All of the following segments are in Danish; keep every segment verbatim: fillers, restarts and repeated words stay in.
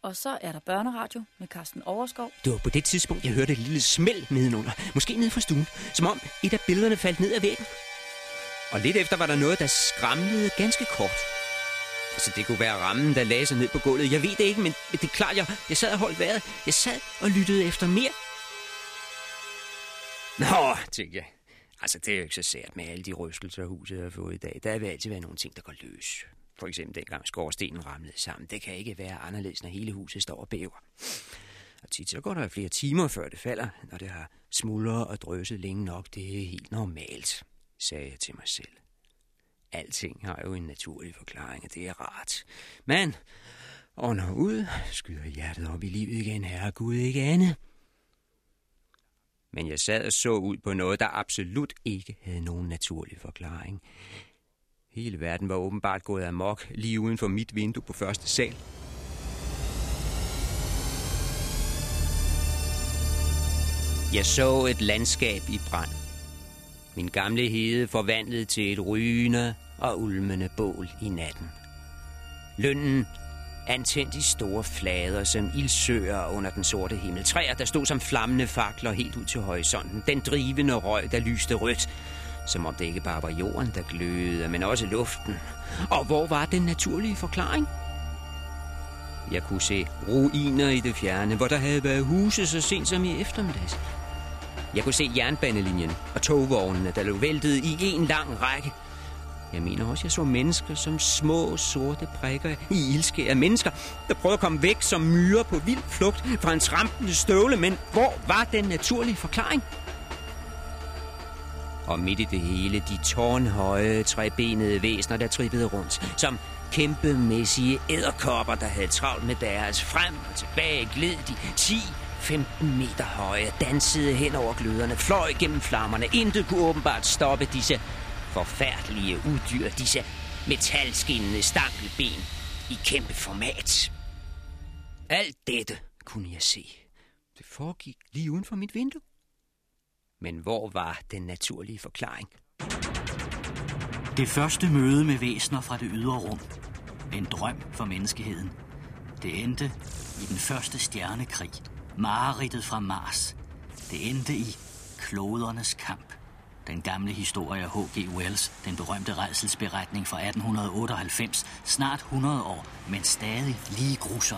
Og så er der børneradio med Carsten Overskov. Det var på det tidspunkt, jeg hørte et lille smæld nedenunder. Måske nede fra stuen. Som om et af billederne faldt ned ad væggen. Og lidt efter var der noget, der skramlede ganske kort. Altså, det kunne være rammen, der lagde sig ned på gulvet. Jeg ved det ikke, men det er klart, jeg, jeg sad og holdt vejret. Jeg sad og lyttede efter mere. Nå, tænkte jeg. Altså, det er jo ikke så sært med alle de rystelser, huset har fået i dag. Der vil altid være nogle ting, der går løs. For eksempel dengang skorstenen ramlede sammen. Det kan ikke være anderledes, når hele huset står og bæver. Og tit så går der flere timer, før det falder. Når det har smuldret og drøset længe nok, det er helt normalt, sagde jeg til mig selv. Alting har jo en naturlig forklaring, og det er rart. Men ånder ud, skyder hjertet op i livet igen, herre Gud, ikke andet. Men jeg sad og så ud på noget, der absolut ikke havde nogen naturlig forklaring. Hele verden var åbenbart gået amok lige uden for mit vindue på første sal. Jeg så et landskab i brand. Min gamle hede forvandlet til et rygende og ulmende bål i natten. Lønnen antændt i store flader som ildsøer under den sorte himmel. Træer, der stod som flammende fakler helt ud til horisonten. Den drivende røg, der lyste rødt. Som om det ikke bare var jorden, der glødede, men også luften. Og hvor var den naturlige forklaring? Jeg kunne se ruiner i det fjerne, hvor der havde været huse så sent som i eftermiddags. Jeg kunne se jernbanelinjen og togvognene, der lå væltet i en lang række. Jeg mener også, jeg så mennesker som små, sorte prikker i ildskær. Mennesker, der prøvede at komme væk som myrer på vild flugt fra en trampende støvle. Men hvor var den naturlige forklaring? Og midt i det hele, de tårnhøje, trebenede væsener, der trippede rundt. Som kæmpemæssige edderkopper, der havde travlt med deres. Frem og tilbage gled de ti femten meter høje, dansede hen over gløderne, fløj gennem flammerne. Intet kunne åbenbart stoppe disse forfærdelige udyr, disse metalskinnende stankelben i kæmpe format. Alt dette kunne jeg se. Det foregik lige uden for mit vindue. Men hvor var den naturlige forklaring? Det første møde med væsener fra det ydre rum. En drøm for menneskeheden. Det endte i den første stjernekrig. Mareridtet fra Mars. Det endte i klodernes kamp. Den gamle historie af H G Wells, den berømte rædselsberetning fra atten otteoghalvfems, snart hundrede år, men stadig lige grusom.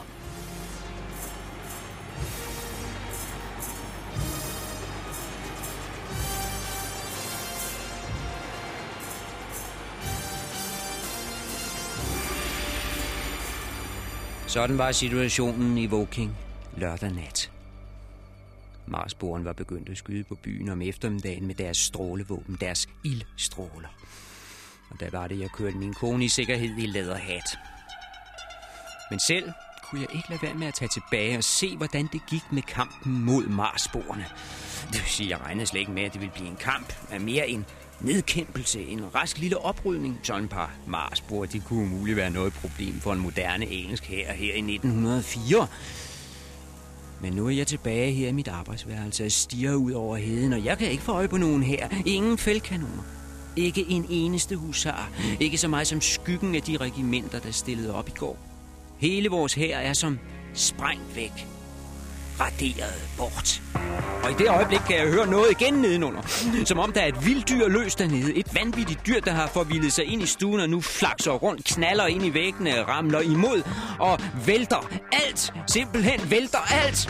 Sådan var situationen i Woking lørdag nat. Marsboerne var begyndt at skyde på byen om eftermiddagen med deres strålevåben, deres ildstråler. Og der var det, jeg kørte min kone i sikkerhed i læderhat. Men selv kunne jeg ikke lade være med at tage tilbage og se, hvordan det gik med kampen mod Marsboerne. Det vil sige, jeg regnede slet ikke med, at det ville blive en kamp, men mere en nedkæmpelse, en rask lille oprydning. Sådan et par Marsboer, de kunne umuligt være noget problem for en moderne engelsk hær her i nitten hundrede og fire. Men nu er jeg tilbage her i mit arbejdsværelse og stiger ud over heden, og jeg kan ikke få øje på nogen her. Ingen feltkanoner. Ikke en eneste husar. Ikke så meget som skyggen af de regimenter, der stillede op i går. Hele vores hær er som sprængt væk. Raderet bort. Og i det øjeblik kan jeg høre noget igen nedenunder. Som om der er et vildt dyr løs dernede. Et vanvittigt dyr, der har forvildet sig ind i stuen og nu flakser rundt, knaller ind i væggene, ramler imod og vælter alt. Simpelthen vælter alt.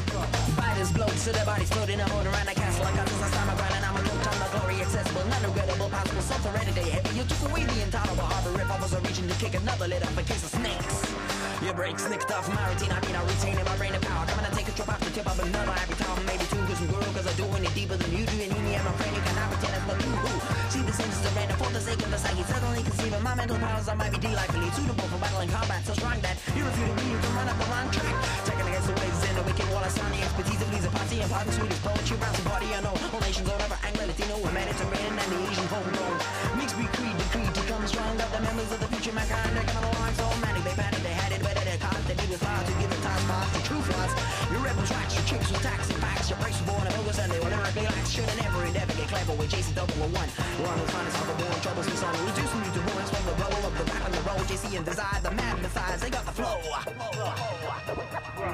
Your brakes nicked off my routine, I mean I retain in my brain and power. Coming to take a trip off the tip of another every time, maybe two, cause I'm guru, cause I do it deeper than you do. And me, I'm a friend, you cannot pretend it's the you who see the sins as a random for the sake of the psyche. Suddenly conceiving my mental powers, I might be delightfully suitable for battle and combat. So strong that you refuse me, you can run up the wrong track. Checking against the waves in the wicked wall, I sound the expertise of Lisa Party and Party Swedish poetry, bouncing party, I know. All nations, all over Anglo, Latino, Mediterranean, and the Asian homegrown. Mixed breed creed, the creed to come strong. Got the members of the future mankind, they're coming along so manic, they panic, they had it better, they caught, they did it far to give the task fast, the true flaws. Your rebel tracks, your tricks, your taxi packs, your breaks were born and focus, and they were lyrically lax. Should've never endeavor get clever with J C double or one. One of the finest of the born troubles and song. Reducing you to ruins from the roll of the rap and the roll. J C and Desire, the man besides, they got the flow.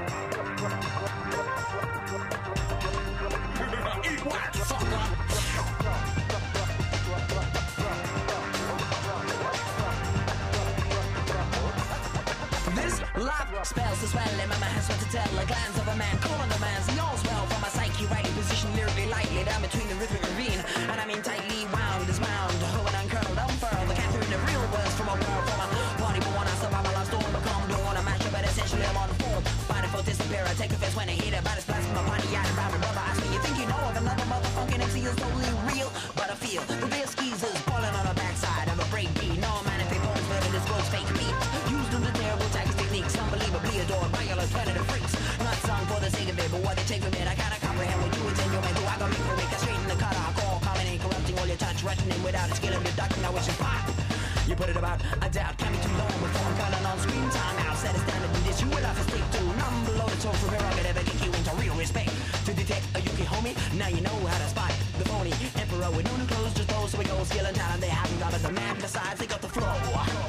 Spells to swell and my man has what to tell. A glance of a man calling the man's he all's well from my psyche, rightly positioned lyrically lightly down between the rhythmic ravine. And I mean tightly wound is wound, hoe and uncurled, unfurled. The cat through the real words from a world from a party but when I survive my life storm become don't wanna mash up but essentially I'm on form. Fighting for disappear, I take a fist when I hit it, but it's blast from my body out around my brother. Ask me, you think you know of another motherfucking M C is totally real? But I feel the real skeezers falling on the backside of a break beat. No man if they bones living this world's fake beat. Used them to terrible tactics techniques, unbelievably adored by your alternative freaks. Not sung for the sake of it, but what they take from it, I kinda comprehend what you intend. Your mental, I got me for it, straight in the cut. I call, commenting, corrupting all your touch, rushing in without a skill of deducting. I wish you pop. You put it about, I doubt, can't be too long before I'm calling on screen time out. Set a standard and this you will have to stick to. None below the tone from here I could ever get you into real respect. To detect a Yuki homie, now you know how to spot the phony emperor with no new clothes, just those so we go skill and talent they haven't got. But the man besides, they got the flow.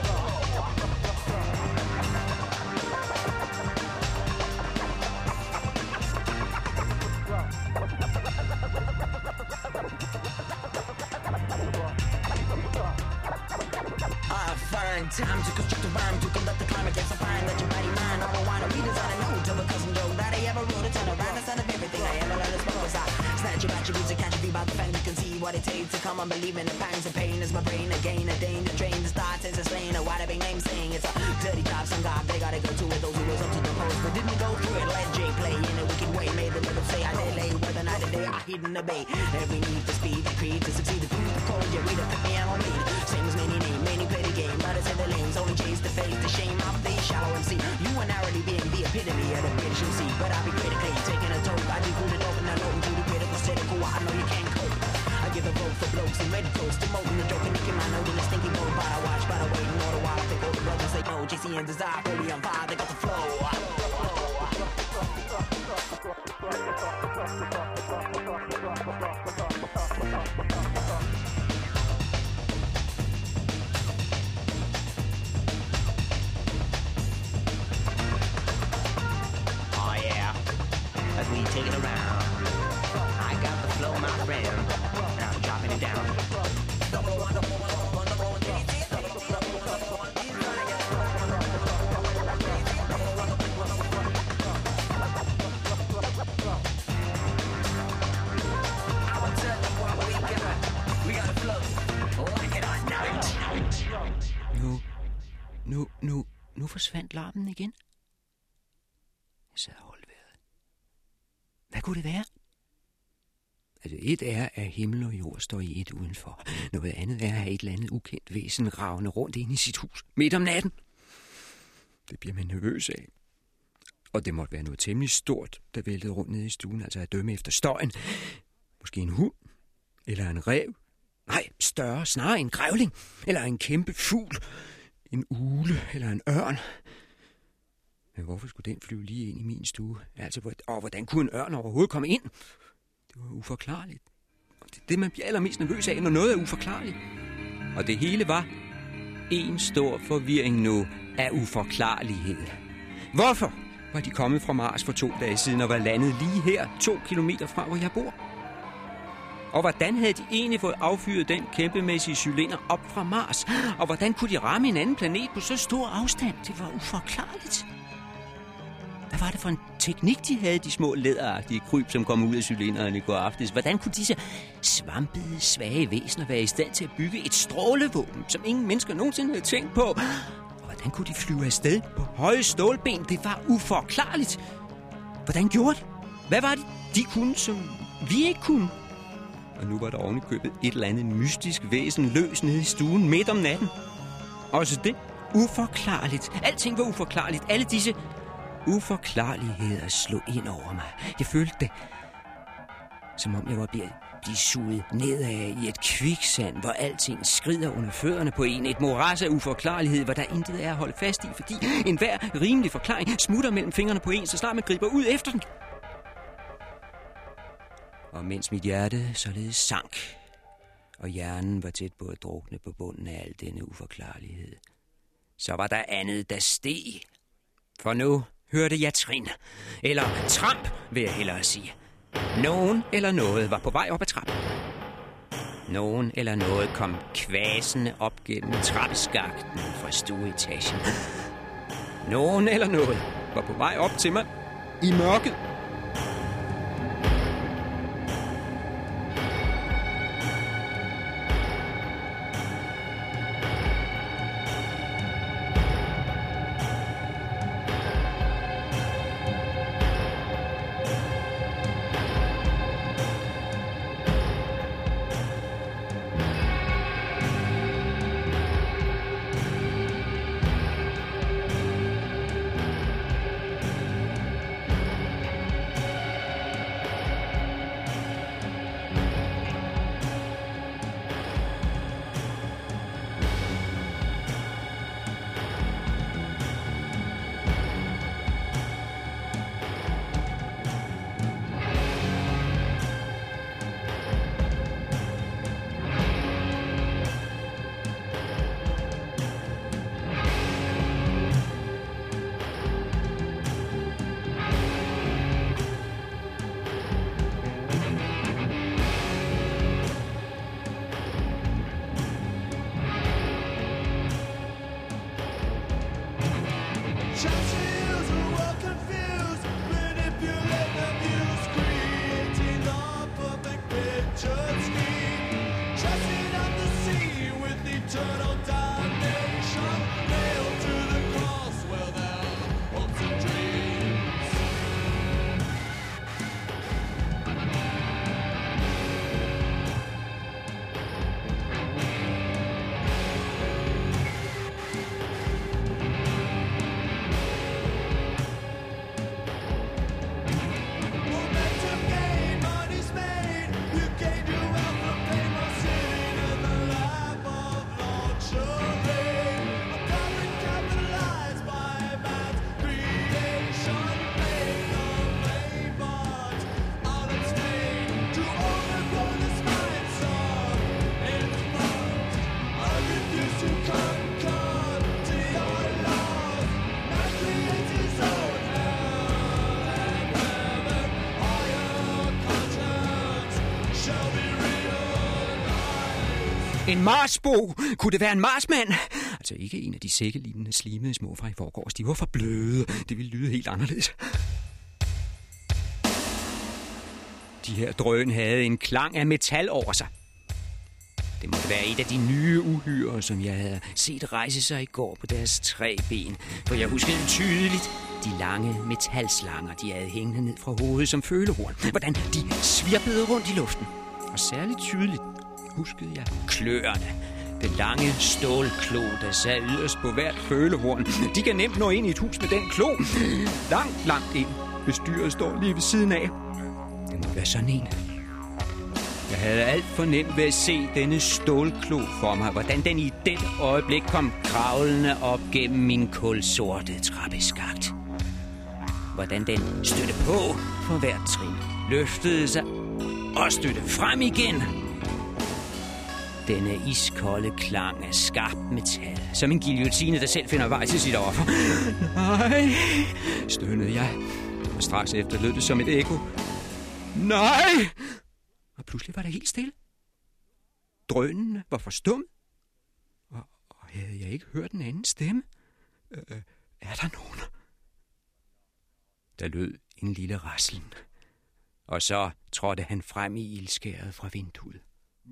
Time to construct a rhyme to conduct the climate. Yes, I find that your body mind. All the wine and readers on a note of a cousin Joe that I ever wrote. To turn around the son of everything I ever let us know. I snatch your attributes and catch you by the fang. You can see what it takes to come unbelieving. The pangs and pain is my brain again. A danger drain the start since it's slain. A wide big name saying it's a dirty job. Some God they gotta go to it. Those who was up to the post but didn't go through it. Let Jay play in a wicked way. Made the middle say I delay. Whether night or day I hidden the bay. Every need for speed to creed to succeed. The food the cold. You read it put me on lead. Same as many name. Many play the game. But it's in the lanes. Only chase the face. The shame of the shallow M C. You are narrowly being the epitome of the British M C. But I'll be critically taking a toke. I do good and open and open to the critical cynical. I know you can't cope. I give a vote for blokes and red coats. Demoting the joke and nicking my note in a stinky boat. But I watch, but I wait and all the while I think all the brothers say no. J C and Desire, fully on fire. They got the flow. Oh yeah, as we take it around, I got the flow, my friend, and I'm dropping it down. Nu, nu, nu, nu forsvandt larmen igen. Jeg sad og holdt vejret. Hvad kunne det være? Altså, et er, at himmel og jord står i et udenfor. Noget andet er, at have et eller andet ukendt væsen ravende rundt inde i sit hus midt om natten. Det bliver man nervøs af. Og det måtte være noget temmelig stort, der væltede rundt nede i stuen, altså at dømme efter støjen. Måske en hund, eller en ræv. Nej, større, snarere en grævling, eller en kæmpe fugl, en ugle eller en ørn. Men hvorfor skulle den flyve lige ind i min stue? Altså, og hvordan kunne en ørn overhovedet komme ind? Det var uforklarligt. Og det er det, man bliver allermest nervøs af, når noget er uforklarligt. Og det hele var en stor forvirring nu af uforklarlighed. Hvorfor var de kommet fra Mars for to dage siden og var landet lige her, to kilometer fra, hvor jeg bor? Og hvordan havde de egentlig fået affyret den kæmpemæssige cylinder op fra Mars? Og hvordan kunne de ramme en anden planet på så stor afstand? Det var uforklarligt. Hvad var det for en teknik, de havde, de små læderagtige kryb, som kom ud af cylinderen i går aftes? Hvordan kunne disse svampede, svage væsener være i stand til at bygge et strålevåben, som ingen mennesker nogensinde havde tænkt på? Og hvordan kunne de flyve afsted på høje stålben? Det var uforklarligt. Hvordan gjorde de? Hvad var det, de kunne, som vi ikke kunne? Og nu var der ovenikøbet et eller andet mystisk væsen løs nede i stuen midt om natten. Også det uforklarligt. Alting var uforklarligt. Alle disse uforklarligheder slog ind over mig. Jeg følte det, som om jeg var ved at blive suget nedad i et kviksand, hvor alting skrider under fødderne på en. Et moras af uforklarlighed, hvor der intet er at holde fast i, fordi enhver rimelig forklaring smutter mellem fingrene på en, så snart man griber ud efter den. Og mens mit hjerte således sank, og hjernen var tæt på at drukne på bunden af al denne uforklarlighed, så var der andet, der steg. For nu hørte jeg trin, eller tramp, vil jeg hellere sige. Nogen eller noget var på vej op ad trappen. Nogen eller noget kom kvasende op gennem trappeskakten fra stueetagen. Nogen eller noget var på vej op til mig i mørket. En Marsbo! Kunne det være en marsmand? Altså ikke en af de sækkelignende slimede små fra i forgårs. De var for bløde. Det ville lyde helt anderledes. De her drøn havde en klang af metal over sig. Det måtte være et af de nye uhyrer, som jeg havde set rejse sig i går på deres tre ben. For jeg huskede tydeligt de lange metalslanger, de havde hængende ned fra hovedet som følehorn. Hvordan de svirpede rundt i luften. Og særligt tydeligt huskede jeg kløerne. Den lange stålklo, der sad yderst på hvert følehorn. De kan nemt nå ind i et hus med den klo. Langt, langt ind. Bestyret står lige ved siden af. Det må være sådan en. Jeg havde alt for nemt ved at se denne stålklo for mig. Hvordan den i det øjeblik kom kravlende op gennem min kulsorte trappeskagt. Hvordan den stødte på for hvert trin. Løftede sig og stødte frem igen. Denne iskolde klang af skarpt metal. Som en guillotine, der selv finder vej til sit offer. Nej, stønnede jeg. Og straks efter lød det som et ekko. Nej! Og pludselig var det helt stille. Drønene var forstummet. Og, og havde jeg ikke hørt en anden stemme? Øh, er der nogen? Der lød en lille raslen. Og så trådte han frem i ildskæret fra vinduet.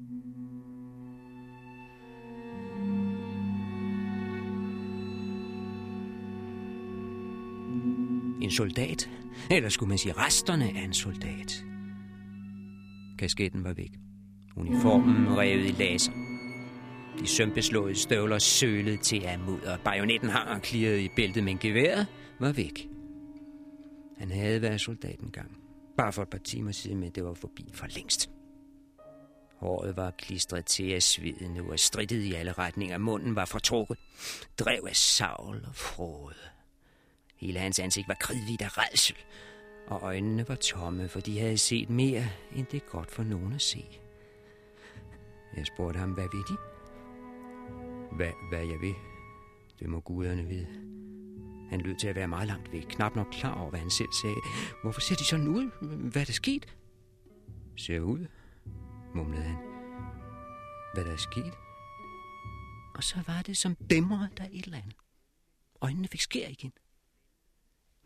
En soldat, eller skulle man sige resterne af en soldat. Kasketten var væk. Uniformen revet i laser. De sømpeslåede støvler sølede til af mudder. Bajonetten hang og klirrede i bæltet, men geværet var væk. Han havde været soldat engang. Bare for et par timer siden, men det var forbi for længst. Håret var klistret til af sveden nu og strittet i alle retninger. Munden var fortrukket. Drev af savl og frode. Hele hans ansigt var kridhvidt af rædsel. Og øjnene var tomme, for de havde set mere, end det er godt for nogen at se. Jeg spurgte ham, hvad ved de? Hvad, hvad jeg ved? Det må guderne vide. Han lød til at være meget langt væk, knap nok klar over, hvad han selv sagde. Hvorfor ser de sådan ud? Hvad er der sket? Ser ud, mumlede han. Hvad der er sket? Og så var det som dæmrede der et eller andet. Øjnene fik skær igen.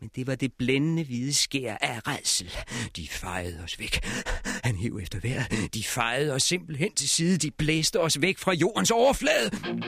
Men det var det blændende hvide skær af rædsel. De fejede os væk. Han hev efter vejret. De fejede os simpelthen til side. De blæste os væk fra jordens overflade.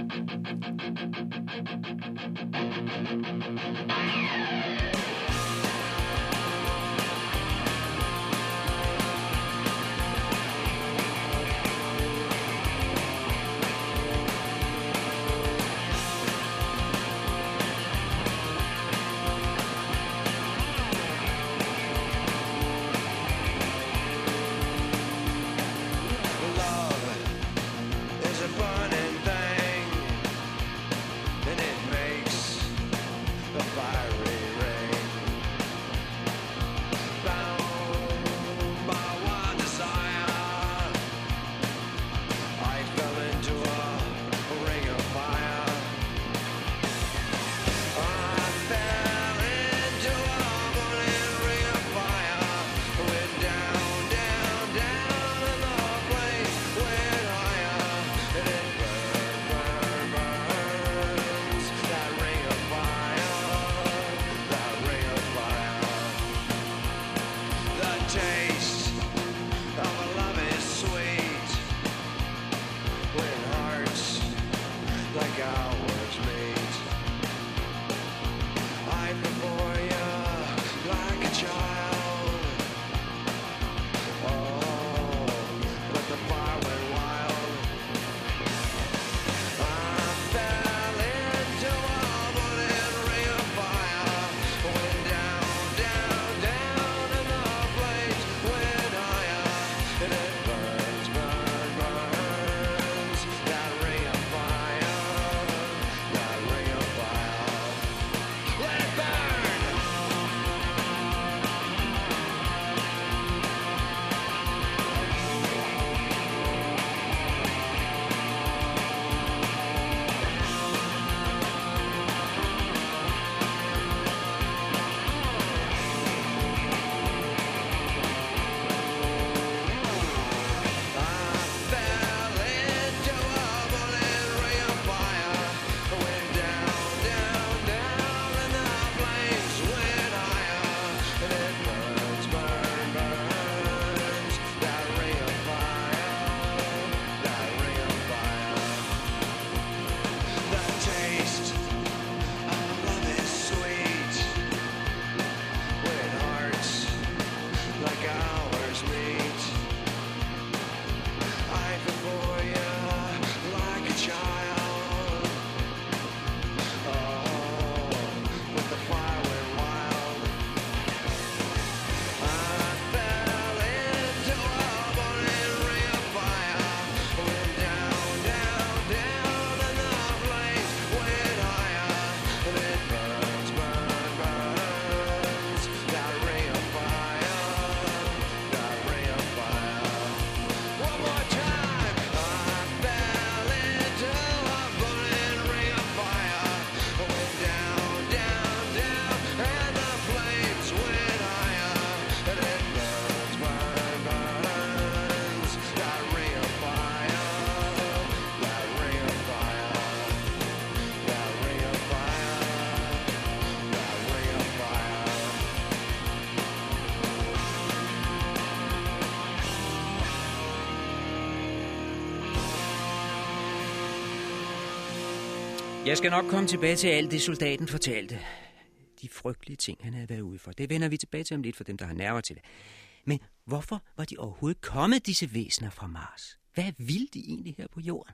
Jeg skal nok komme tilbage til alt det, soldaten fortalte. De frygtelige ting, han havde været ude for. Det vender vi tilbage til om lidt for dem, der har nerver til det. Men hvorfor var de overhovedet kommet, disse væsener fra Mars? Hvad ville de egentlig her på jorden?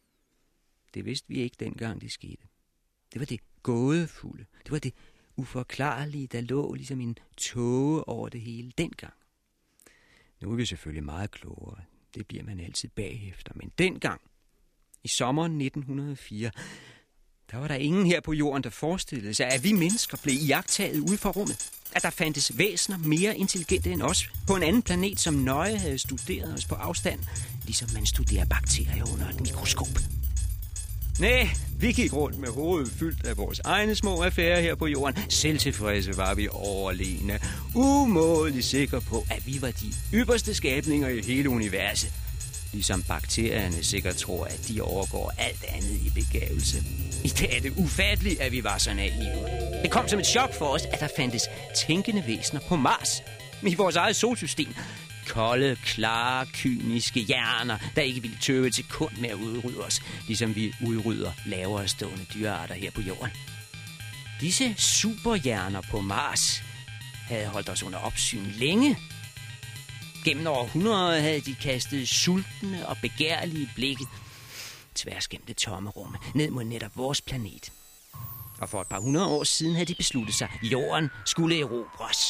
Det vidste vi ikke dengang, det skete. Det var det gådefulde. Det var det uforklarlige, der lå ligesom en tåge over det hele dengang. Nu er vi selvfølgelig meget klogere. Det bliver man altid bagefter. Men dengang, i sommeren nitten hundrede og fire, der var der ingen her på jorden, der forestillede sig, at vi mennesker blev iagttaget ude fra rummet. At der fandtes væsener mere intelligente end os på en anden planet, som nøje havde studeret os på afstand, ligesom man studerer bakterier under et mikroskop. Næh, vi gik rundt med hovedet fyldt af vores egne små affærer her på jorden. Selvtilfredse var vi overlegne. Umådeligt sikre på, at vi var de ypperste skabninger i hele universet. Ligesom bakterierne sikkert tror, at de overgår alt andet i begavelse. I dag er det ufatteligt, at vi var så naive. Det kom som et chok for os, at der fandtes tænkende væsener på Mars. I vores eget solsystem. Kolde, klare, kyniske hjerner, der ikke ville tøve til kun med at udrydde os, ligesom vi udrydder lavere stående dyrearter her på jorden. Disse superhjerner på Mars havde holdt os under opsyn længe. Gennem århundreder havde de kastet sultne og begærlige blikke tværs gennem det tomme rum, ned mod netop vores planet. Og for et par hundrede år siden havde de besluttet sig, at jorden skulle erobres.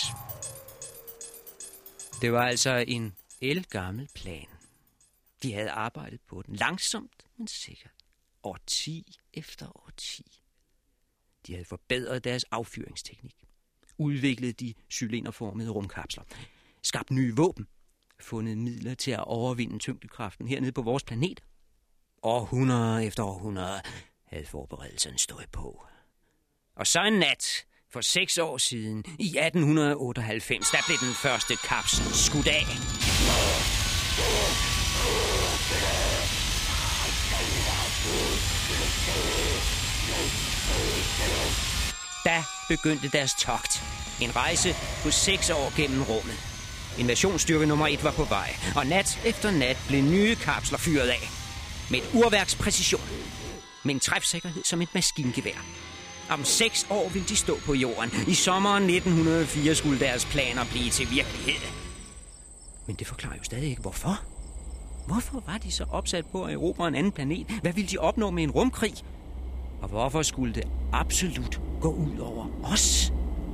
Det var altså en ældgammel plan. De havde arbejdet på den langsomt, men sikkert. Årti efter årti. De havde forbedret deres affyringsteknik. Udviklet de cylinderformede rumkapsler. Skabt nye våben. Fundet midler til at overvinde tyngdekraften hernede på vores planet. Århundrede efter århundrede havde forberedelserne stået på. Og så en nat for seks år siden, i atten otteoghalvfems, der blev den første kapsel skudt af. Da begyndte deres togt. En rejse på seks år gennem rummet. Invasionsstyrke nummer et var på vej, og nat efter nat blev nye kapsler fyret af. Med et urværks præcision. Med en træfsikkerhed som et maskingevær. Om seks år ville de stå på jorden. I sommeren nitten hundrede og fire skulle deres planer blive til virkelighed. Men det forklarer jo stadig ikke, hvorfor. Hvorfor var de så opsat på at erobre en anden planet? Hvad ville de opnå med en rumkrig? Og hvorfor skulle det absolut gå ud over os?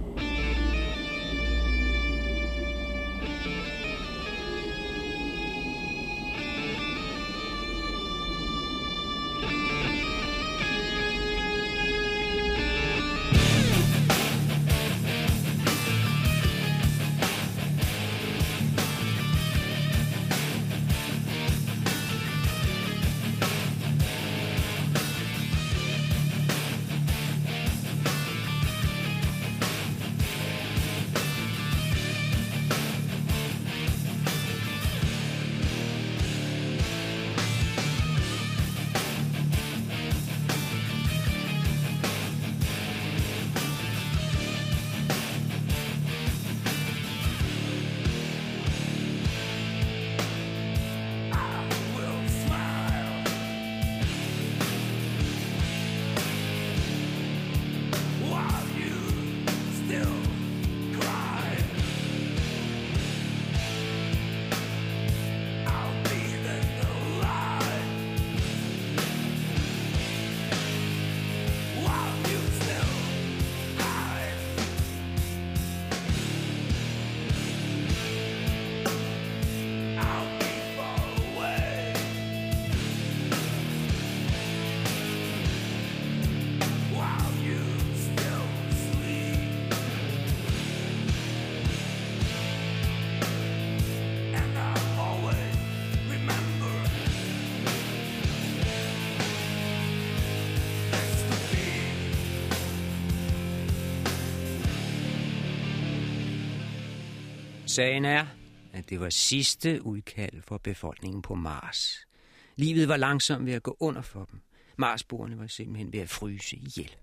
Sagen er, at det var sidste udkald for befolkningen på Mars. Livet var langsomt ved at gå under for dem. Marsboerne var simpelthen ved at fryse ihjel.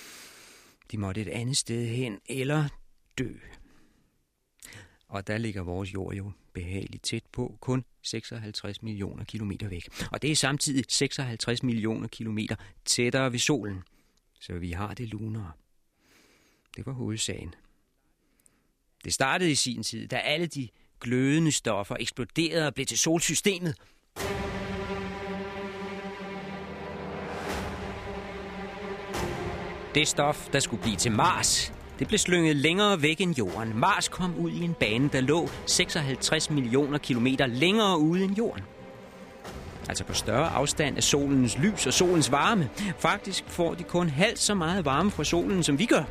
De måtte et andet sted hen eller dø. Og der ligger vores jord jo behageligt tæt på, kun seksoghalvtreds millioner kilometer væk. Og det er samtidig seksoghalvtreds millioner kilometer tættere ved solen. Så vi har det lunere. Det var hovedsagen. Det startede i sin tid, da alle de glødende stoffer eksploderede og blev til solsystemet. Det stof, der skulle blive til Mars, det blev slynget længere væk end jorden. Mars kom ud i en bane, der lå seksoghalvtreds millioner kilometer længere ude end jorden. Altså på større afstand af solens lys og solens varme. Faktisk får de kun halvt så meget varme fra solen, som vi gør.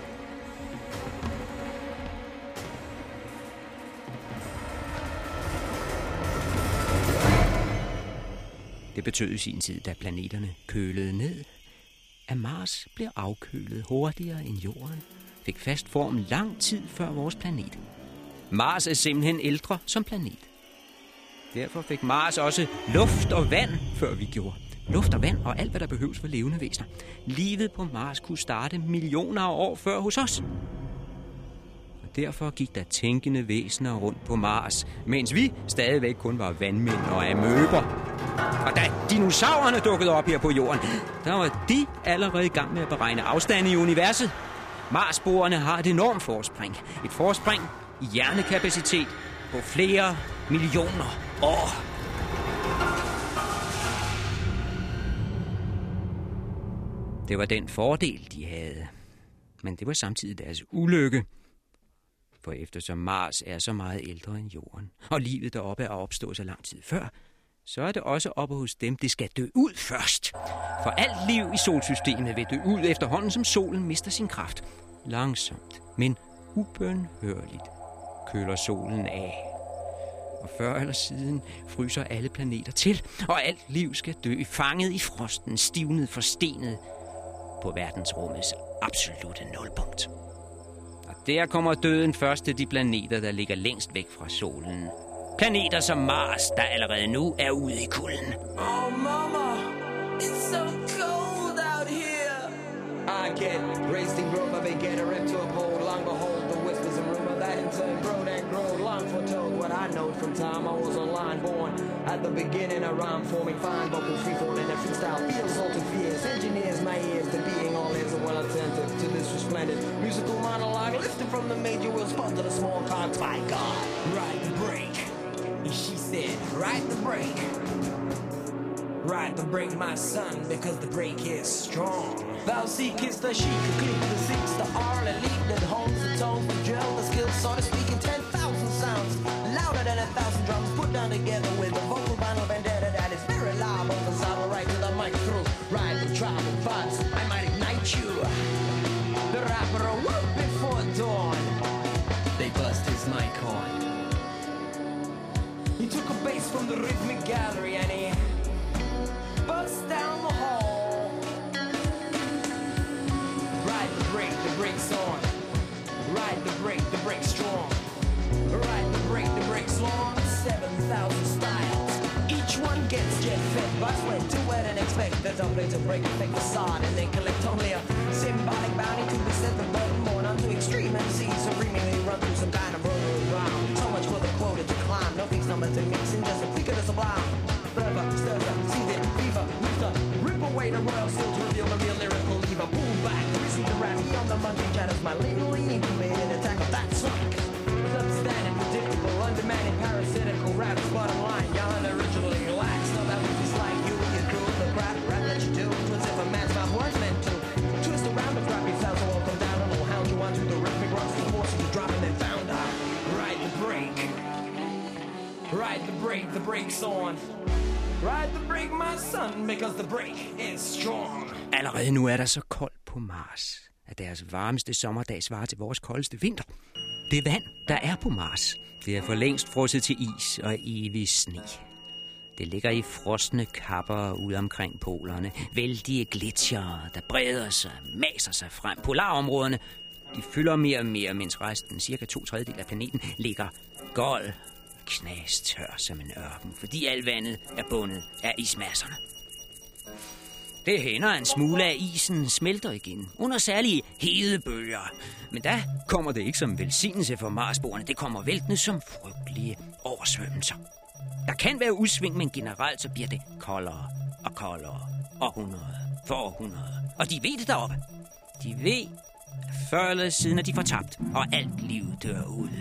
Det betød i sin tid, da planeterne kølede ned, at Mars blev afkølet hurtigere end jorden, fik fast form lang tid før vores planet. Mars er simpelthen ældre som planet. Derfor fik Mars også luft og vand, før vi gjorde. Luft og vand og alt, hvad der behøves for levende væsener. Livet på Mars kunne starte millioner af år før hos os. Og derfor gik der tænkende væsener rundt på Mars, mens vi stadigvæk kun var vandmænd og amøber. Og da dinosaurerne dukkede op her på jorden, der var de allerede i gang med at beregne afstande i universet. Marsboerne har et enormt forspring. Et forspring i hjernekapacitet på flere millioner år. Det var den fordel, de havde. Men det var samtidig deres ulykke. For eftersom Mars er så meget ældre end Jorden, og livet deroppe er opstået så lang tid før, så er det også oppe hos dem, det skal dø ud først. For alt liv i solsystemet vil dø ud efterhånden, som solen mister sin kraft. Langsomt, men ubønhørligt køler solen af. Og før eller siden fryser alle planeter til, og alt liv skal dø, fanget i frosten, stivnet, forstenet på verdensrummets absolutte nulpunkt. Og der kommer døden først til de planeter, der ligger længst væk fra solen. Planeter som Mars, der allerede nu er ude i kulden. Oh, mama, it's so cold out here. I get raised and grow, but they get a rep to uphold. Long behold, the whispers and rumor that in turn grow and grow. Long foretold what I know from time I was online born. At the beginning, a rhyme forming fine vocals free falling and freestyle feels all too fierce. Engineers my ears to being all ears and well attentive to this resplendent musical monologue lifted from the major wheel spot to the small cogs. My God, ride the break. She said, ride the break. Ride the break, my son, because the break is strong. Thou seekest the sheik, who click the seeks, the R, the lead that holds the tone, the drill, the skill, so to speak, in ten thousand sounds, louder than a thousand drums, put down together with a vocal vinyl vendetta that is very loud, on the saddle right to the mic through, ride the tribal vibes, I might ignite you. The rapper awoke before dawn, they bust his mic on. He took a bass from the rhythmic gallery and he bust down the hall. Ride the break, the break's on. Ride the break, the break's strong. Ride the break, the break's long. Seven thousand styles. Each one gets jet fed by sweat to wet and expect. There's a place to break, fake facade, and then collect only a symbolic bounty to be set the button born onto extreme M Cs supremely run through some kind of rotary round. So much for the quota to climb. No fixed number to mix in, just a flick of the sublime. Forever, stirs up, sees it, fever, moves up, rip away the royal seal to reveal the real lyrical lever. Pull back, receive the rap, he on the monkey chatters, my legally incubated attack of that sonic. Substandard, predictable, undemanding, parasitical raps, bottom line, y'all originally lax. No, that was just like you and your crew, the crap rap that you do, was if a man's mouth was meant to. Twist around the crappy sounds, so all come down, a little hound you onto the rhythmic rocks, the forces you drop and then found out. Ride the break. Ride the break, the break's on. Ride the break, my son, because the break is strong. Allerede nu er der så koldt på Mars, at deres varmeste sommerdag svarer til vores koldeste vinter. Det vand, der er på Mars, det er for længst frosset til is og evig sne. Det ligger i frosne kapper ude omkring polerne. Vældige gletsjere, der breder sig, maser sig frem. Polarområderne, de fylder mere og mere, mens resten, cirka to tredjedel af planeten, ligger gold, knastør som en ørken, fordi alt vandet er bundet af ismasserne. Det hænder, en smule af isen smelter igen, under særlige hedebølger. Men der kommer det ikke som velsignelse for Marsboerne, det kommer væltende som frygtelige oversvømmelser. Der kan være udsving, men generelt så bliver det koldere og koldere, århundrede for århundrede. Og de ved det deroppe. De ved, at før eller siden er de fortabt, og alt liv dør ud.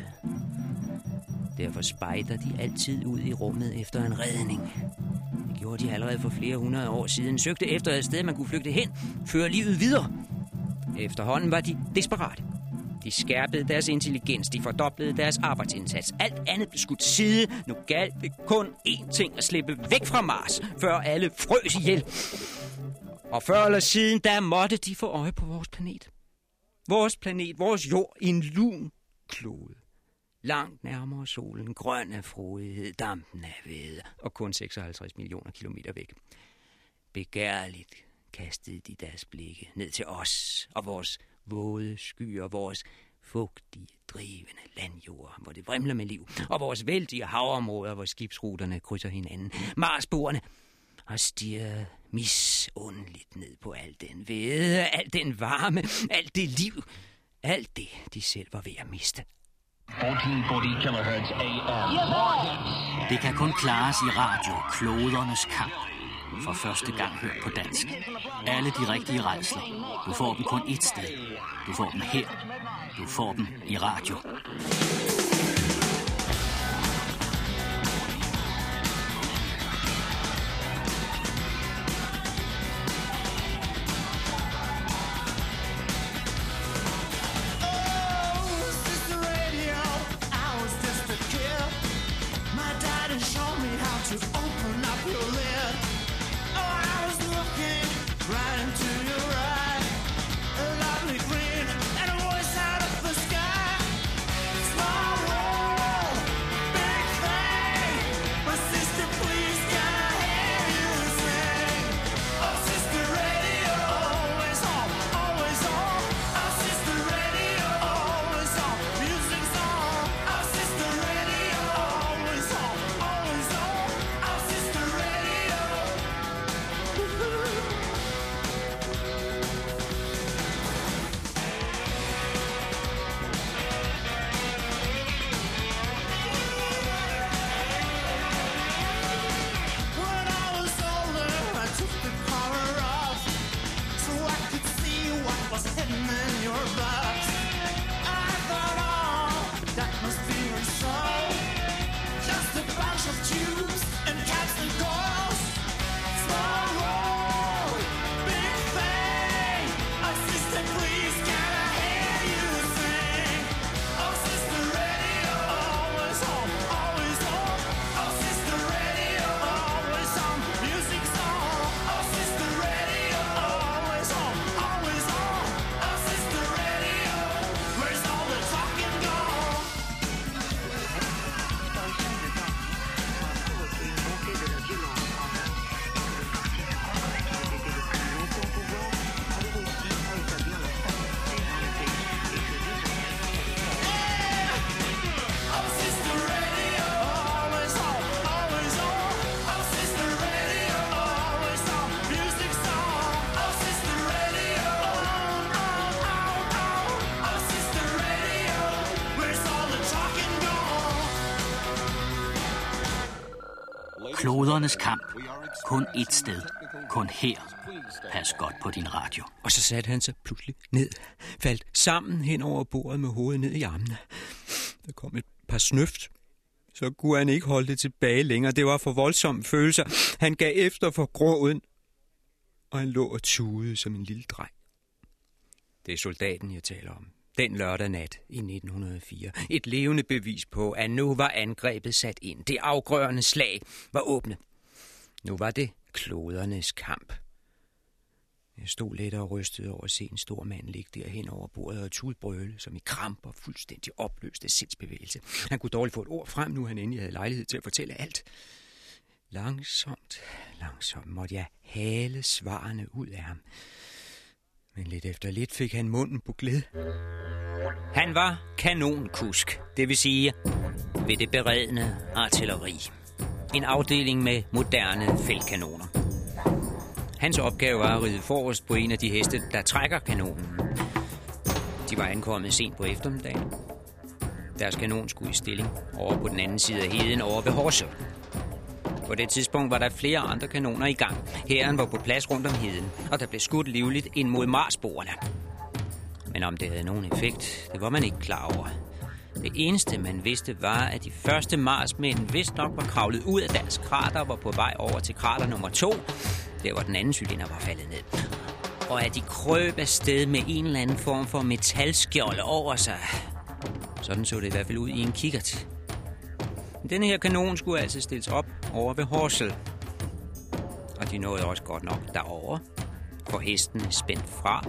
Derfor spejder de altid ud i rummet efter en redning. Det gjorde de allerede for flere hundrede år siden. Søgte efter et sted, man kunne flygte hen, føre livet videre. Efterhånden var de desperate. De skærpede deres intelligens, de fordoblede deres arbejdsindsats. Alt andet blev skudt til side. Nu galt det kun én ting, at slippe væk fra Mars, før alle frøs ihjel. Og før eller siden, der måtte de få øje på vores planet. Vores planet, vores jord, en lun klode. Langt nærmere solen, grøn af frodighed, dampen af væde, og kun seksoghalvtreds millioner kilometer væk. Begærligt kastede de deres blikke ned til os og vores våde skyer, vores fugtige, drivende landjord, hvor det vrimler med liv, og vores vældige havområder, hvor skibsruterne krydser hinanden. Marsboerne har stirret misundeligt ned på al den hvede, al den varme, alt det liv, alt det, de selv var ved at miste. fjorten fyrre kilohertz A M. Det kan kun klares i radio, klodernes kamp. For første gang hørt på dansk. Alle de rigtige rædsler. Du får dem kun ét sted. Du får dem her. Du får dem i radio. Klodernes kamp. Kun ét sted. Kun her. Pas godt på din radio. Og så satte han sig pludselig ned, faldt sammen hen over bordet med hovedet ned i armene. Der kom et par snøft. Så kunne han ikke holde det tilbage længere. Det var for voldsomme følelser. Han gav efter for gråden, og han lå og tudede som en lille dreng. Det er soldaten, jeg taler om. Den lørdag nat i nitten hundrede og fire. Et levende bevis på, at nu var angrebet sat ind. Det afgørende slag var åbne. Nu var det klodernes kamp. Jeg stod lidt og rystede over at se en stor mand ligge derhen over bordet og tudbrøle, som i kramper fuldstændig opløste sindsbevægelse. Han kunne dårligt få et ord frem, nu han endelig havde lejlighed til at fortælle alt. Langsomt, langsomt måtte jeg hale svarene ud af ham. Men lidt efter lidt fik han munden på gled. Han var kanonkusk, det vil sige ved det beredne artilleri. En afdeling med moderne feltkanoner. Hans opgave var at ride forrest på en af de heste, der trækker kanonen. De var ankommet sent på eftermiddagen. Deres kanon skulle i stilling over på den anden side af heden over ved Horsø. På det tidspunkt var der flere andre kanoner i gang. Hæren var på plads rundt om heden, og der blev skudt livligt ind mod Marsboerne. Men om det havde nogen effekt, det var man ikke klar over. Det eneste, man vidste, var, at de første Marsmænd vist nok var kravlet ud af deres krater og var på vej over til krater nummer to, der hvor den anden cylinder var faldet ned. Og at de krøb afsted med en eller anden form for metalskjolde over sig. Sådan så det i hvert fald ud i en kikkert. Denne her kanon skulle altså stilles op over ved Horsel. Og de nåede også godt nok derover, for hesten er spændt fra.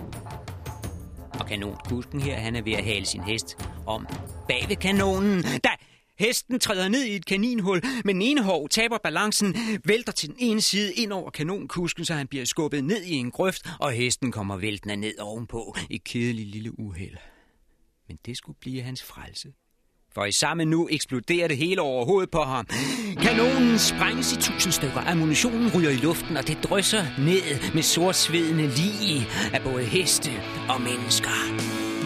Og kanonkusken her, han er ved at hale sin hest om bag ved kanonen. Da hesten træder ned i et kaninhul, men den ene hov taber balancen, vælter til den ene side ind over kanonkusken, så han bliver skubbet ned i en grøft, og hesten kommer væltende ned ovenpå. Et kedeligt lille uheld. Men det skulle blive hans frelse. For i samme nu eksploderer det hele over hovedet på ham. Kanonen sprænges i tusind stykker, ammunitionen ryger i luften, og det drysser ned med sortsvedende lig af både heste og mennesker.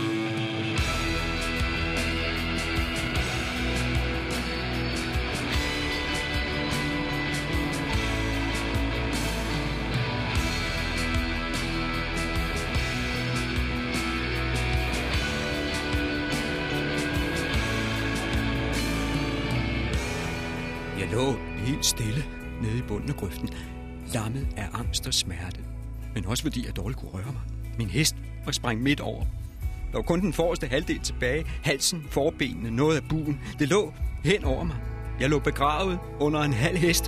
Jeg lå helt stille nede i bunden af grøften, lammet af angst og smerte, men også fordi jeg dårligt kunne røre mig. Min hest var sprængt midt over. Der var kun den forreste halvdel tilbage, halsen, forbenene, noget af buen. Det lå hen over mig. Jeg lå begravet under en halv hest.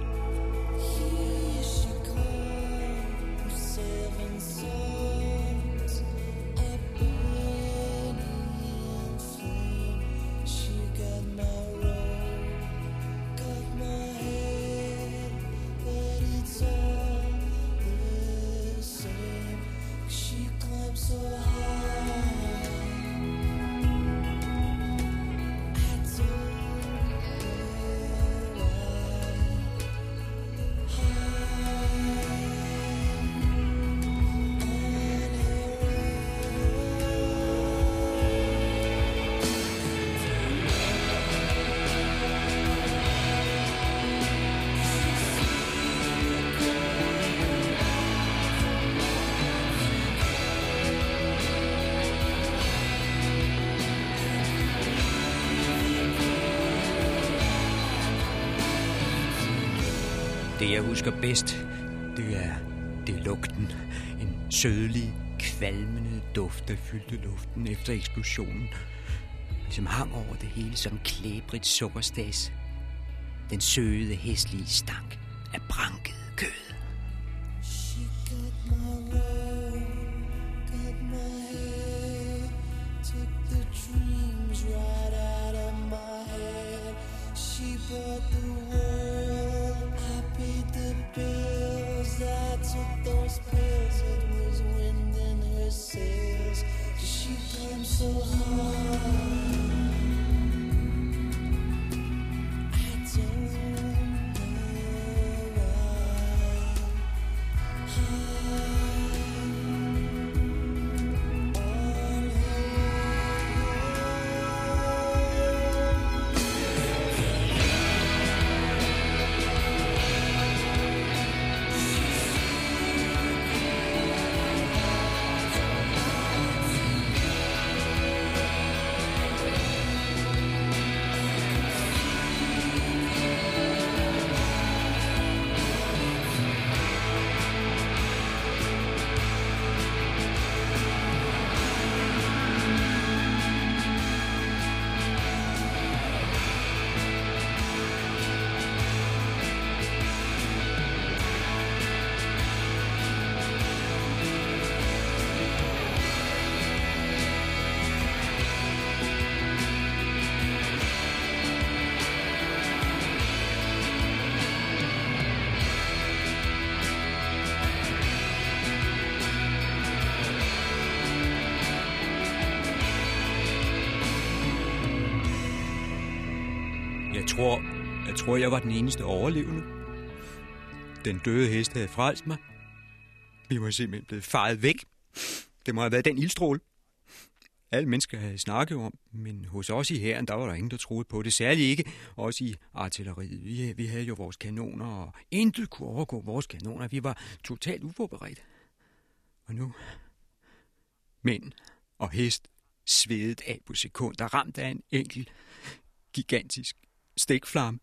Det, jeg husker bedst, det er, det er lugten. En sødlig, kvalmende duft, der fyldte luften efter eksplosionen. Som hang over det hele som klæbrigt sukkerstas. Den søde, hæslige stank af branket kød. She got my robe, got my head, took the dreams right out of my head. She brought the world, I paid the bills, I took those pills, it was wind in her sails. She climbed so hard, I don't Jeg tror, jeg tror, jeg var den eneste overlevende. Den døde hest havde frelst mig. Vi var simpelthen blevet faret væk. Det må have været den ildstråle. Alle mennesker havde snakket om, men hos os i hæren, der var der ingen, der troede på det. Særligt ikke os i artilleriet. Vi, vi havde jo vores kanoner, og intet kunne overgå vores kanoner. Vi var totalt uforberedt. Og nu, mænd og hest svedet af på sekunder, ramt af en enkelt, gigantisk stikflamme.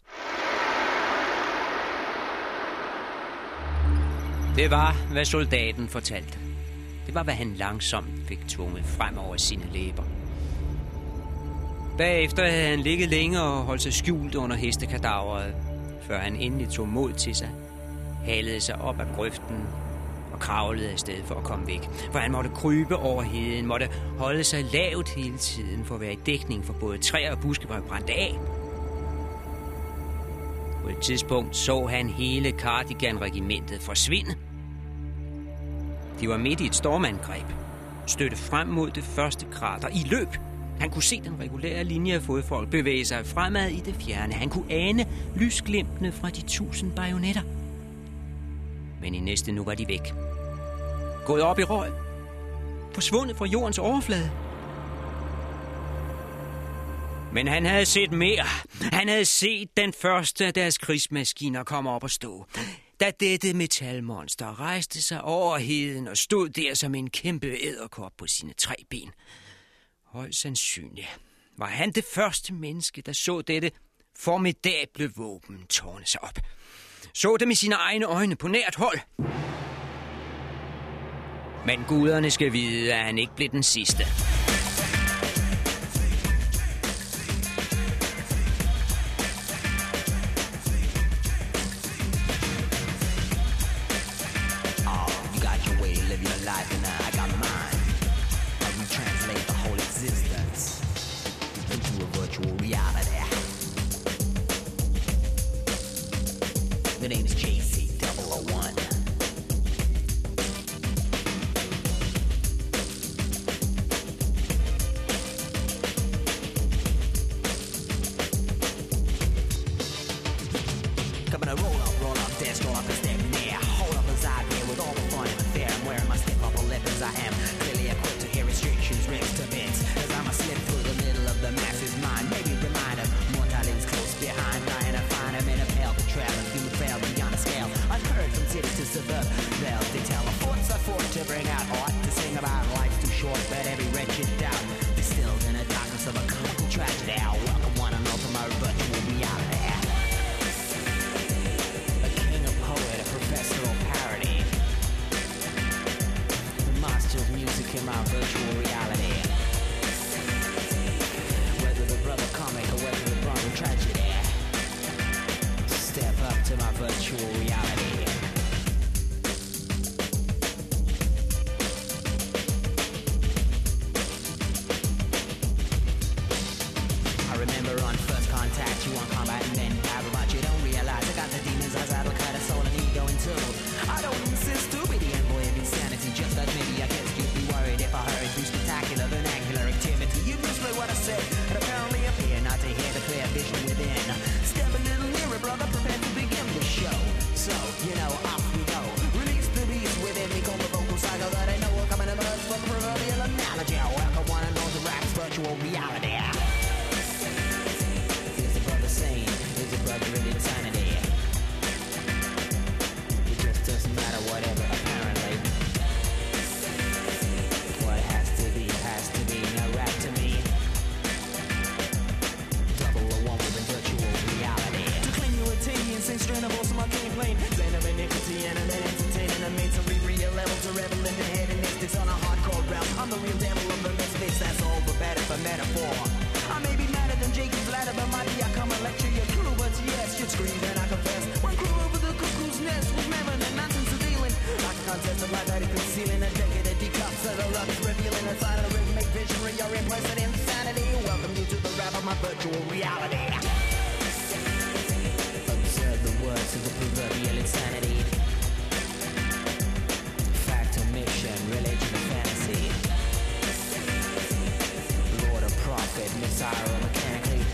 Det var, hvad soldaten fortalte. Det var, hvad han langsomt fik tvunget frem over sine læber. Bagefter havde han ligget længe og holdt sig skjult under hestekadaveret, før han endelig tog mod til sig, halede sig op af grøften og kravlede afsted for at komme væk. For han måtte krybe over heden, måtte holde sig lavt hele tiden for at være i dækning, for både træer og buske var brændt af. På et tidspunkt så han hele Cardigan-regimentet forsvinde. De var midt i et stormangreb, stødte frem mod det første krater i løb, Han kunne se den regulære linje af fodfolk bevæge sig fremad i det fjerne. Han kunne ane lysglimtene fra de tusind bajonetter. Men i næste nu var de væk. Gået op i røg. Forsvundet fra jordens overflade. Men han havde set mere. Han havde set den første af deres krigsmaskiner komme op og stå. Da dette metalmonster rejste sig over heden og stod der som en kæmpe edderkop på sine tre ben. Højst sandsynligt var han det første menneske, der så dette formidable våben tårne sig op. Så det med sine egne øjne på nært hold. Men guderne skal vide, at han ikke blev den sidste. The name is J C double oh one. Coming to roll up, roll up, dance, roll up and step near. Hold up as I here with all the fun and fair. I'm wearing my step up weapons. I am clearly equipped to hear restrictions, rips to bits. As I'm a slip through the middle of the masses mind. Maybe remind them, mortality is close behind. Dying to find him in a pale traveling through the fail beyond a scale. Unheard from city to suburb. Bells they tell a forts are fought to bring out art to sing about life's too short, but every wretched doubt distilled in the darkness of a comical tragedy. I'll welcome one and all to my virtual reality. A king, a poet, a professor of parody. The master of music in my virtual reality. Whether the brother comic or whether the brother tragedy. Step up to my virtual reality. I remember on first contact, you want combat and then battle, but you don't realize I got the demons eyes, I look at a soul and ego in two. I don't insist to be the envoy of insanity, just that maybe I get stupidly worried if I hurry through spectacular vernacular activity. You misread what I said, and apparently appear not to hear the clear vision within. Step a little nearer, brother, prepare to begin the show. So, you know, off we go. Release the beast within me, call the vocal cycle that I know will come in a merge from proverbial analogy. I welcome one and all to rap's virtual reality. Is the brother sane? Is the brother in insanity? It just doesn't matter, whatever, apparently. What has to be, has to be, no rap to me. Double or one with a virtual reality. To claim you attain the insane strain of awesome arcane plane. Zen of iniquity and then entertaining a made to read real level to revel in the head and mystics on a hardcore realm. I'm the real devil of the misfits, that's all but better for metaphor. I may be madder than Jacob's ladder, but might be I come and lecture your crew, but yes, you'd scream and I confess. One crew over the cuckoo's nest with mammon and nonsense of dealing. Like a contest of life that is concealing a decade of decups of the rucks, revealing a side of rhythmic visionary or implicit insanity. Welcome you to the rap of my virtual reality. Observe the words of the proverbial insanity. Fact or mission, religion or fantasy. Lord or prophet, messiah or mechanically.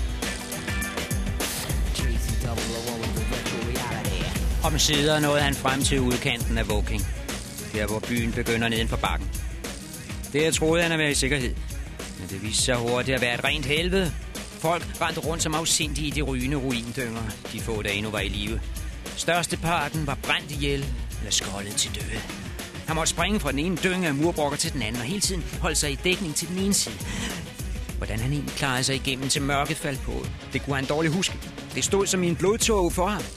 J C double oh one with the virtual reality. Omsider nåede han frem til udkanten af Woking. Der hvor byen begynder neden for bakken. Der troede han at være i sikkerhed. Men det viste sig hurtigt at være et rent helvede. Folk rendte rundt som afsindige i de rygende ruindynger, de få der endnu var i live. Størsteparten var brændt ihjel eller skoldet til døde. Han måtte springe fra den ene dynge af murbrokker til den anden, og hele tiden holde sig i dækning til den ene side. Hvordan han egentlig klarede sig igennem til mørket faldt på, det kunne han dårligt huske. Det stod som i en blodtåge for ham.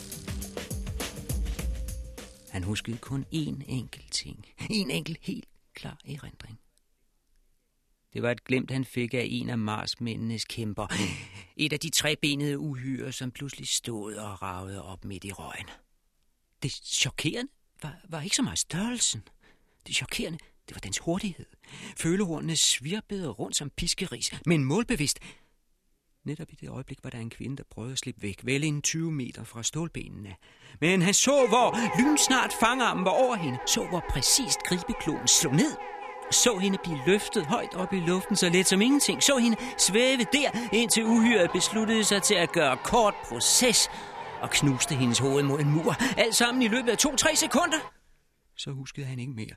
Han huskede kun én enkelt ting. En enkelt helt klar erindring. Det var et glimt, han fik af en af Mars-mændenes kæmper. Et af de trebenede uhyre, som pludselig stod og ragede op midt i røgen. Det chokerende var, var ikke så meget størrelsen. Det chokerende, det var dens hurtighed. Følehornene svirpede rundt som piskeris, men målbevidst. Netop i det øjeblik var der en kvinde, der prøvede at slippe væk, vel en tyve meter fra stålbenene. Men han så, hvor lynsnart fangarmen var over hende, så hvor præcist gribekloen slog ned. Så hende blive løftet højt op i luften, så let som ingenting. Så hende svæve der, indtil uhyret besluttede sig til at gøre kort proces og knuste hendes hoved mod en mur. Alt sammen i løbet af to-tre sekunder. Så huskede han ikke mere.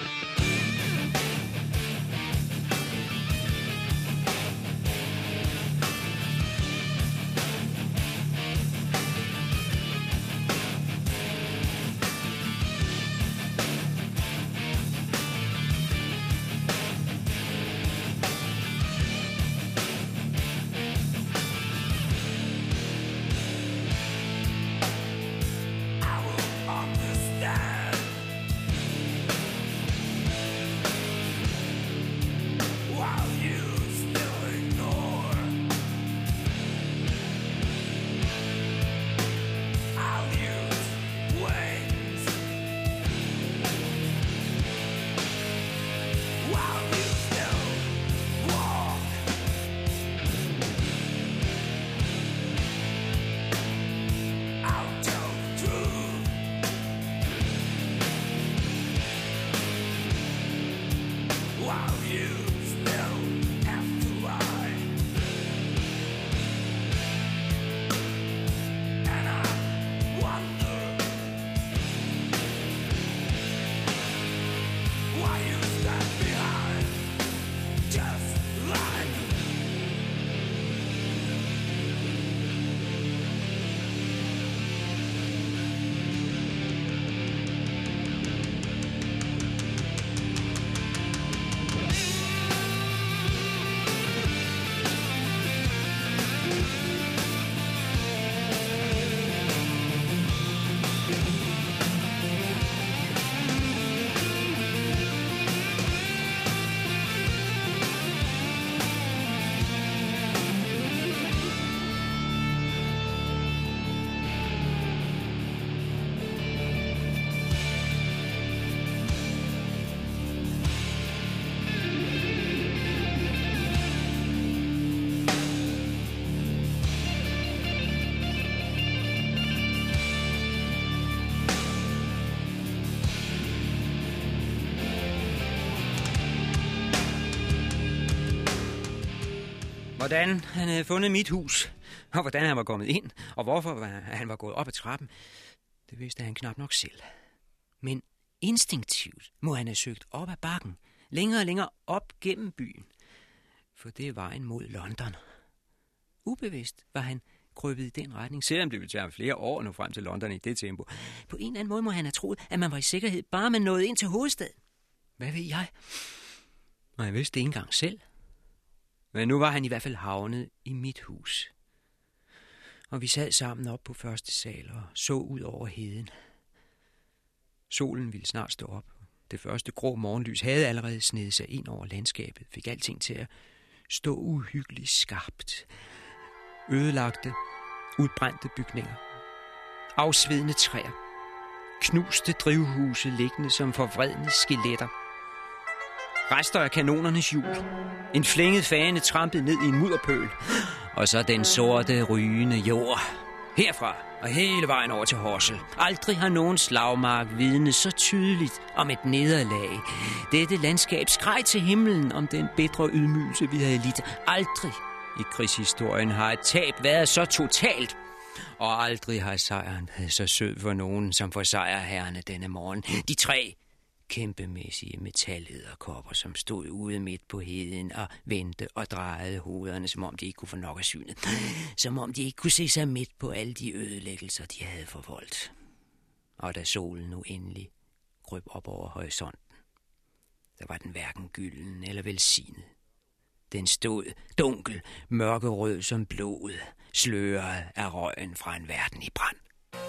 Hvordan han havde fundet mit hus, og hvordan han var kommet ind, og hvorfor han var gået op ad trappen, det vidste han knap nok selv. Men instinktivt må han have søgt op ad bakken, længere og længere op gennem byen, for det er vejen mod London. Ubevidst var han krøbet i den retning, selvom det ville tage flere år nu frem til London i det tempo. På en eller anden måde må han have troet, at man var i sikkerhed, bare man nåede ind til hovedstaden. Hvad ved jeg? Og jeg vidste det ikke engang selv. Men nu var han i hvert fald havnet i mit hus. Og vi sad sammen op på første sal og så ud over heden. Solen ville snart stå op. Det første grå morgenlys havde allerede snedet sig ind over landskabet, fik alting til at stå uhyggeligt skarpt. Ødelagte, udbrændte bygninger, afsvedende træer, knuste drivhuse liggende som forvredne skeletter, rester af kanonernes hjul, en flænget fane trampet ned i en mudderpøl, og så den sorte, rygende jord. Herfra og hele vejen over til Horsel. Aldrig har nogen slagmark vidnet så tydeligt om et nederlag. Dette landskab skreg til himlen om den bitre ydmygelse, vi havde lidt. Aldrig i krigshistorien har et tab været så totalt. Og aldrig har sejren været så sød for nogen, som for sejrherrene denne morgen. De tre kæmpemæssige metallederkopper, som stod ude midt på heden og vendte og drejede hovederne, som om de ikke kunne få nok af synet. Som om de ikke kunne se sig midt på alle de ødelæggelser, de havde forvoldt. Og da solen nu endelig krøb op over horisonten, der var den hverken gylden eller velsignet. Den stod dunkel, mørkerød som blod, sløret af røgen fra en verden i brand.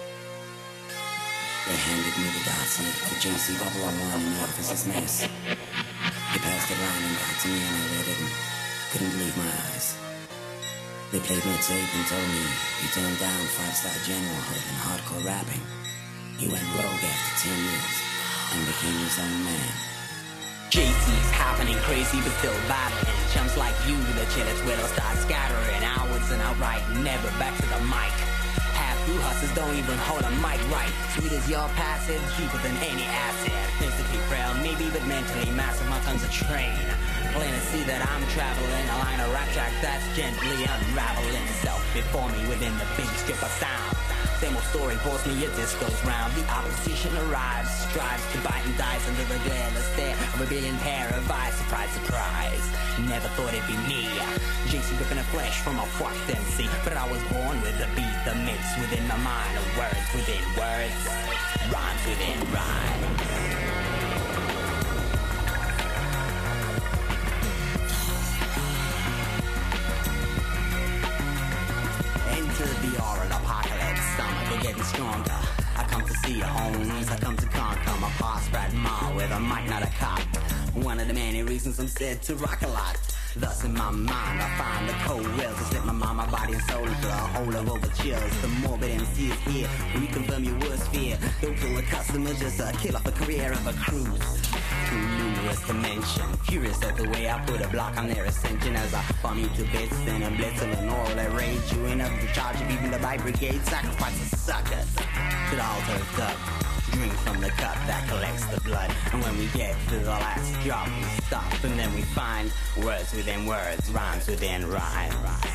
They handed me the Dotson, the J C bubble on one in the office's mess. They passed it around and got to me and I read it and couldn't believe my eyes. They played me a tape and told me he turned down five-star general hood and hardcore rapping. He went rogue after ten years and became his own man. J C's happening crazy but still battling. Chumps like you, the chillest will start scattering. I was an outright never back to the mic. Half You hustlers don't even hold a mic right. Sweet as your passive, cheaper than any asset. Physically frail, maybe, but mentally massive. My tongue's a train. Plain to see that I'm traveling a line of rap track that's gently unraveling itself before me within the big strip of sound. Same old story bores me, your disc goes round. The opposition arrives, strives to bite and dice under the glare stare of a billion pair of eyes. Surprise, surprise, never thought it'd be me. J C ripping the flesh from a fucked M C. But I was born with the beat, the mix within my mind of words within words, rhymes within rhymes. The oral apocalypse, stomach are getting stronger. I come to see your homes, I come to conquer my past right mile with a mic, not a cop. One of the many reasons I'm said to rock a lot. Thus in my mind I find the cold rails to slip my mind, my body and soul into a hole of overchills. The morbid M C is here, reconfirm your worst fear. Don't kill a customer, just uh, kill off the career of a cruise. Too numerous to mention. Furious at the way I put a block on their ascension as I bomb you to bits and a blitz and an oral that rage you in up the charge of even the bike brigade. Sacrifice a sucker to the altar of God. Drink from the cup that collects the blood. And when we get to the last drop we stop. And then we find words within words, rhymes within rhyme.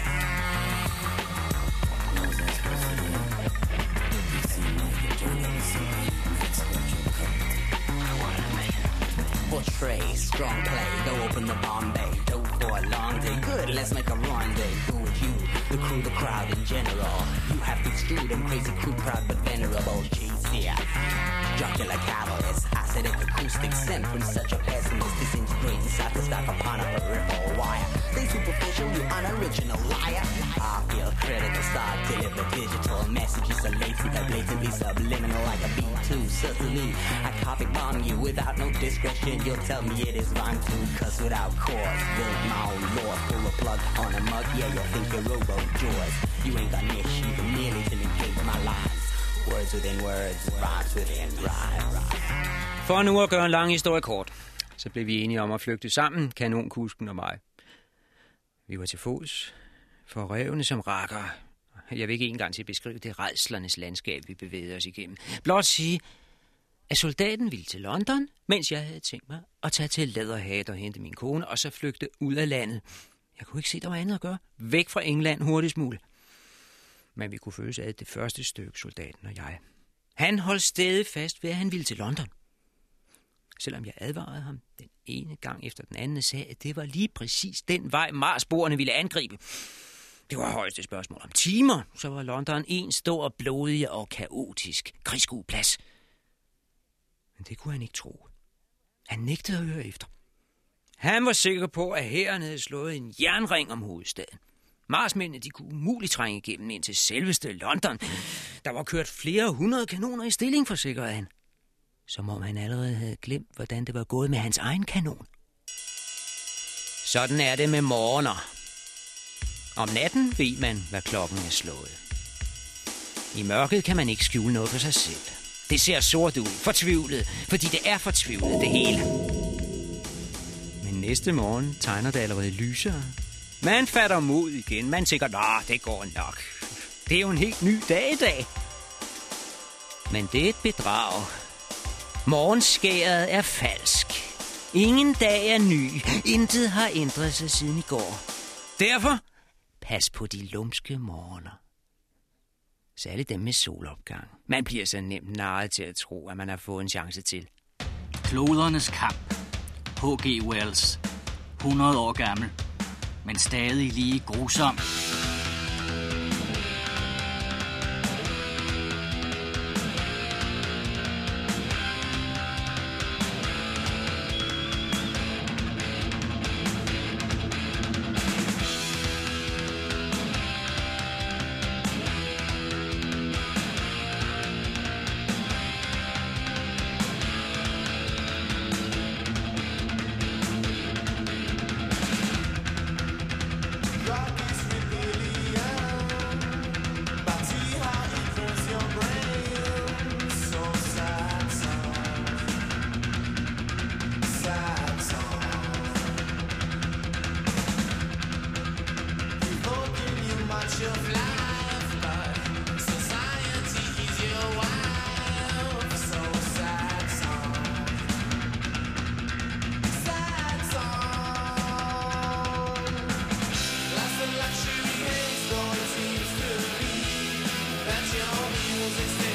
Portray, strong play, go open the Bombay. Go for a long day, good, let's make a rendezvous with you. The crew, the crowd in general. You have to extrude them crazy crew, proud but venerable. G C F, jocular catalyst, acidic acoustic sent from such a pessimist. Disintegrating satisfied upon a peripheral wire. They superficial, you unoriginal liar. I feel critical, start deliver digital messages are latent, blatantly subliminal like a beat too. Certainly, I copy bomb you without no discretion. You'll tell me it is rhyme too, cause without cause, build my own lore, pull a plug on a mug. Yeah, you'll think you're robo jaws. You ain't got niche even nearly to negate my lines. Words within words, rhymes within rhymes. For nu at gøre en lang historie kort, så blev vi enige om at flygte sammen, kanonkusken og mig. Vi var til fods, for revne som rakker. Jeg vil ikke engang til at beskrive det rædslernes landskab, vi bevægede os igennem. Blot sige, at soldaten ville til London, mens jeg havde tænkt mig at tage til Leatherhead og hente min kone, og så flygte ud af landet. Jeg kunne ikke se, der var andet at gøre. Væk fra England hurtigst muligt. Men vi kunne føles af det første stykke, soldaten og jeg. Han holdt stadig fast ved, at han ville til London. Selvom jeg advarede ham den ene gang efter den anden, sagde, at det var lige præcis den vej, Marsboerne ville angribe. Det var højeste spørgsmål om timer, så var London en stor, blodig og kaotisk krigsskueplads. Men det kunne han ikke tro. Han nægtede at høre efter. Han var sikker på, at hæren havde slået en jernring om hovedstaden. Marsmændene, de kunne umuligt trænge igennem ind til selveste London. Der var kørt flere hundrede kanoner i stilling, forsikrede han. Som om han allerede havde glemt, hvordan det var gået med hans egen kanon. Sådan er det med morgener. Om natten ved man, hvad klokken er slået. I mørket kan man ikke skjule noget for sig selv. Det ser sort ud, fortvivlet, fordi det er fortvivlet, det hele. Men næste morgen tegner det allerede lysere. Man fatter mod igen. Man tænker, nå, det går nok. Det er jo en helt ny dag i dag. Men det er et bedrag. Morgenskæret er falsk. Ingen dag er ny. Intet har ændret sig siden i går. Derfor, pas på de lumske morgener. Særligt dem med solopgang. Man bliver så nemt narret til at tro, at man har fået en chance til. Klodernes kamp. H G Wells. hundrede år gammel. Men stadig lige grusom. Rock is rebellion. cause it's